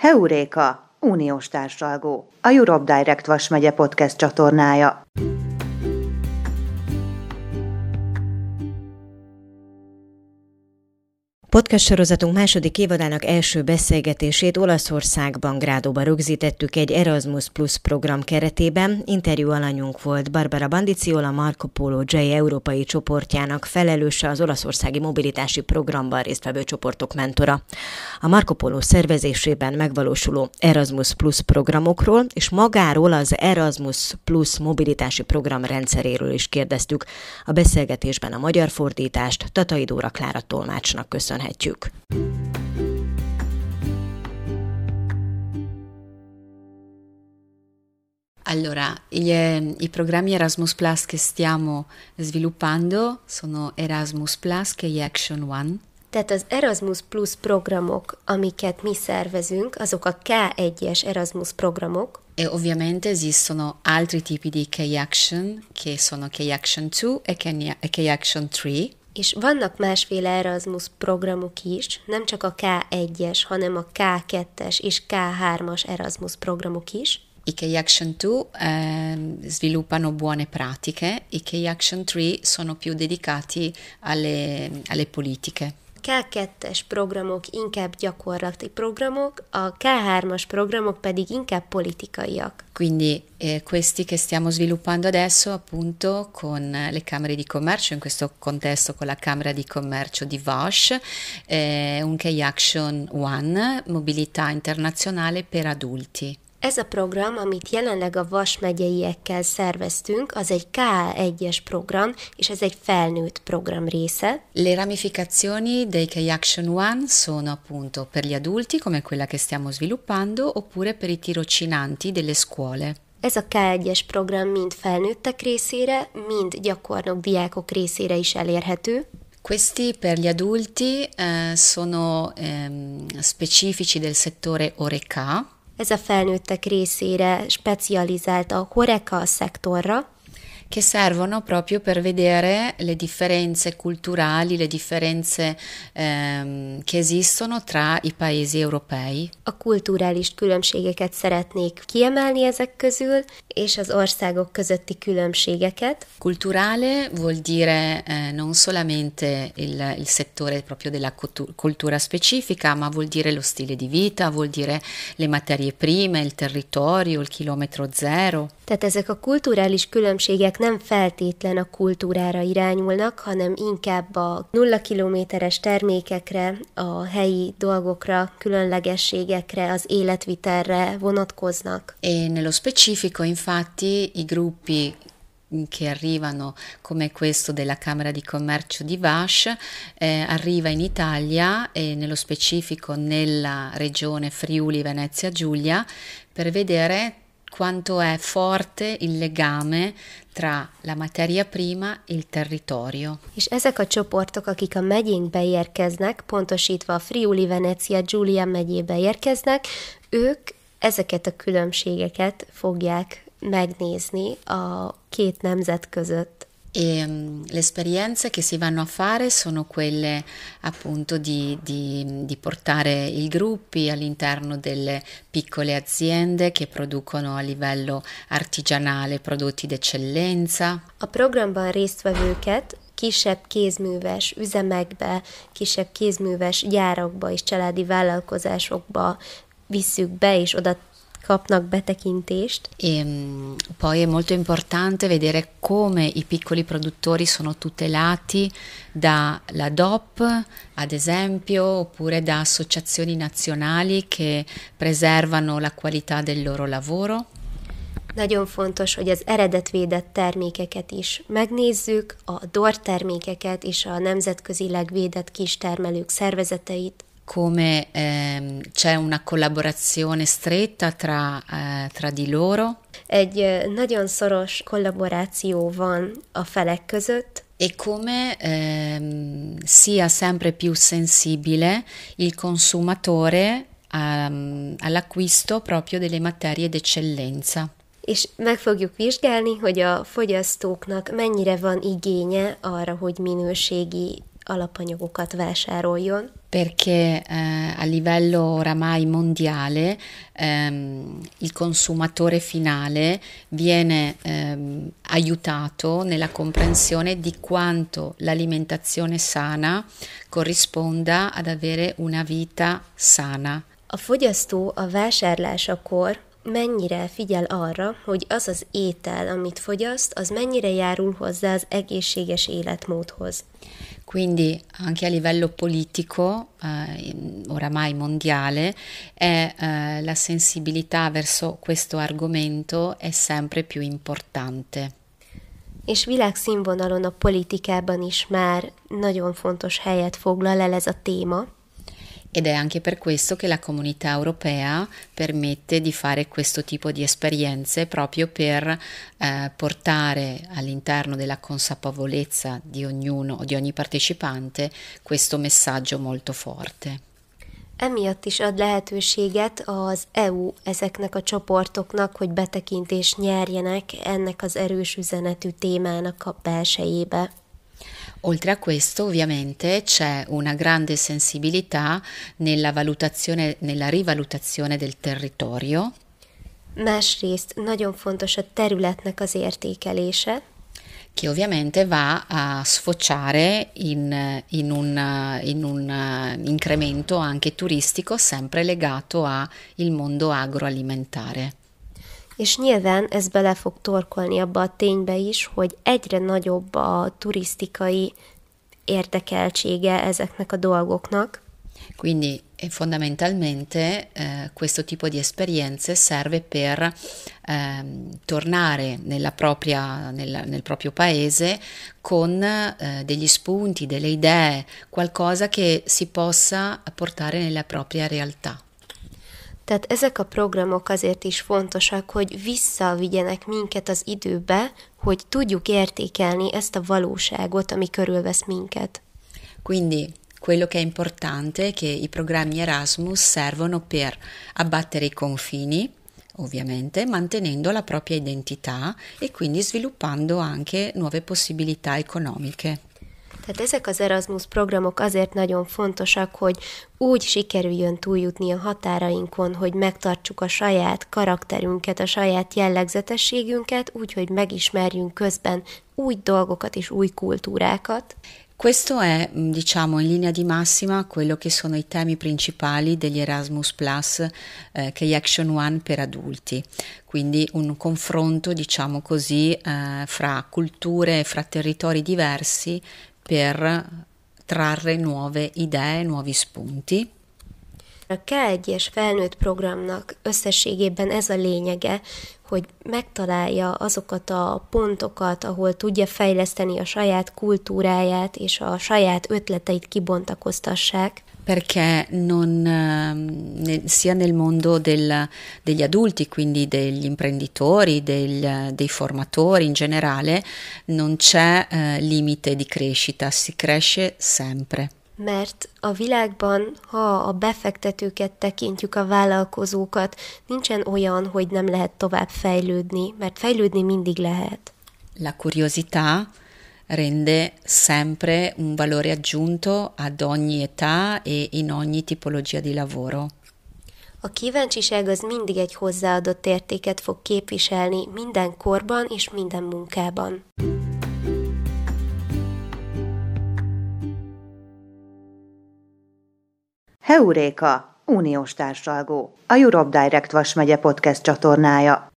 Heuréka, uniós társalgó, a Europe Direct Vas megye podcast csatornája. Podcast sorozatunk második évadának első beszélgetését Olaszországban, Grádóban rögzítettük egy Erasmus Plus program keretében. Interjú alanyunk volt Barbara Bandiciola, Marco Polo J európai csoportjának felelőse, az olaszországi mobilitási programban résztvevő csoportok mentora. A Marco Polo szervezésében megvalósuló Erasmus Plus programokról és magáról az Erasmus Plus mobilitási program rendszeréről is kérdeztük. A beszélgetésben a magyar fordítást Tatai Dóra Klára tolmácsnak köszönhetjük. Allora, i programmi Erasmus Plus che stiamo sviluppando sono Erasmus Plus che è Action One. Tehát az Erasmus Plus programok, amiket mi szervezünk, azok a K1-es Erasmus programok. E ovviamente esistono altri tipi di K-Action, che sono K-Action 2 e K-Action 3. És vannak másféle Erasmus programok is, nem csak a K1-es, hanem a K2-es és K3-as Erasmus programok is. I K-Action 2 sviluppano buone pratiche, i K-Action 3 sono più dedicati alle politiche. K2-es programok inkább gyakorlati programok, a K3-as programok pedig inkább politikaiak. Quindi questi che stiamo sviluppando adesso appunto con le Camere di Commercio, in questo contesto con la Camera di Commercio di Vash, un K-Action One, mobilità internazionale per adulti. Ez a program, amit jelenleg a Vas megyeiekkel szerveztünk, az egy K1-es program, és ez egy felnőtt program része. Le ramificazioni dei K-Action One sono appunto per gli adulti, come quella che stiamo sviluppando, oppure per i tirocinanti delle scuole. Ez a K1-es program mind felnőttek részére, mind gyakornok diákok részére is elérhető. Questi per gli adulti sono specifici del settore Horeca. Ez a felnőttek részére specializált a Horeca szektorra, che servono proprio per vedere le differenze culturali, le differenze che esistono tra i paesi europei. A kulturális különbségeket szeretnék kiemelni ezek közül, és az országok közötti különbségeket. Culturale vuol dire non solamente il settore proprio della cultura specifica, ma vuol dire lo stile di vita, vuol dire le materie prime, il territorio, il chilometro zero. Tehát ezek a kulturális különbségek nem feltétlen a kultúrára irányulnak, hanem inkább a 0 kilométeres termékekre, a helyi dolgokra, különlegességekre, az életvitelre vonatkoznak. E nello specifico, infatti, i gruppi che arrivano come questo della Camera di Commercio di Vash arriva in Italia e nello specifico nella regione Friuli Venezia Giulia per vedere quanto è forte il legame tra la materia prima e il territorio. És ezek a csoportok, akik a megyénkbe érkeznek, pontosítva a Friuli Venezia Giulia megyébe érkeznek, ők ezeket a különbségeket fogják megnézni a két nemzet között. E le esperienze che si vanno a fare sono quelle appunto di portare i gruppi all'interno delle piccole aziende che producono a livello artigianale prodotti d'eccellenza. A programban résztvevőket kisebb kézműves üzemekbe, kisebb kézműves gyárakba és családi vállalkozásokba visszük be, és oda kapnak betekintést. E poi è molto importante vedere come i piccoli produttori sono tutelati dalla DOP, ad esempio, oppure da associazioni nazionali che preservano la qualità del loro lavoro. Nagyon fontos, hogy az eredetvédett termékeket is megnézzük, a DOR termékeket és a nemzetközileg védett kistermelők szervezeteit. Come c'è una collaborazione stretta tra di loro. Egy nagyon szoros kollaboráció van a felek között. E come sia sempre più sensibile il consumatore all'acquisto proprio delle materie d'eccellenza. És meg fogjuk vizsgálni, hogy a fogyasztóknak mennyire van igénye arra, hogy minőségi alapanyagokat vásároljon. Perché a livello oramai mondiale il consumatore finale viene aiutato nella comprensione di quanto l'alimentazione sana corrisponda ad avere una vita sana. A fogyasztó a vásárlásakor mennyire figyel arra, hogy az az étel, amit fogyaszt, az mennyire járul hozzá az egészséges életmódhoz. Quindi anche a livello politico, oramai mondiale, la sensibilità verso questo argomento è sempre più importante. És világszínvonalon a politikában is már nagyon fontos helyet foglal el ez a téma. Ed è anche per questo che la Comunità Europea permette di fare questo tipo di esperienze proprio per portare all'interno della consapevolezza di ognuno o di ogni partecipante questo messaggio molto forte. Emiatt is ad lehetőséget az EU ezeknek a csoportoknak, hogy betekintést nyerjenek ennek az erős üzenetű témának a belsejébe. Oltre a questo, ovviamente, c'è una grande sensibilità nella rivalutazione del territorio. Másrészt nagyon fontos a területnek az értékelése, che ovviamente va a sfociare in un incremento anche turistico sempre legato al mondo agroalimentare. És nyilván ez bele fog torkolni abba a ténybe is, hogy egyre nagyobb a turisztikai érdekeltsége ezeknek a dolgoknak. Quindi fondamentalmente questo tipo di esperienze serve per tornare nel proprio paese con degli spunti, delle idee, qualcosa che si possa portare nella propria realtà. Tehát ezek a programok azért is fontosak, hogy visszavigyenek minket az időbe, hogy tudjuk értékelni ezt a valóságot, ami körülvesz minket. Quindi quello che è importante è che i programmi Erasmus servono per abbattere i confini, ovviamente, mantenendo la propria identità e quindi sviluppando anche nuove possibilità economiche. Tehát ezek az Erasmus programok azért nagyon fontosak, hogy úgy sikerüljön túljutni a határainkon, hogy megtartsuk a saját karakterünket, a saját jellegzetességünket, úgy, hogy megismerjünk közben új dolgokat és új kultúrákat. Questo è, diciamo, in linea di massima quello che sono i temi principali degli Erasmus Plus, che è Action One per adulti, quindi un confronto, diciamo così, fra culture, fra territori diversi per trarre nuove idee, nuovi spunti. A K1-es felnőtt programnak összességében ez a lényege, hogy megtalálja azokat a pontokat, ahol tudja fejleszteni a saját kultúráját és a saját ötleteit kibontakoztassák. Perché sia nel mondo degli adulti, quindi degli imprenditori, dei formatori in generale, non c'è limite di crescita, si cresce sempre. Mert a világban, ha a befektetőket tekintjük, a vállalkozókat, nincsen olyan, hogy nem lehet tovább fejlődni, mert fejlődni mindig lehet. La curiosità rende sempre un valore aggiunto ad ogni età e in ogni tipologia di lavoro. A kíváncsiság az mindig egy hozzáadott értéket fog képviselni minden korban és minden munkában. Heuréka, uniós társalgó, a Europe Direct Vas megye podcast csatornája.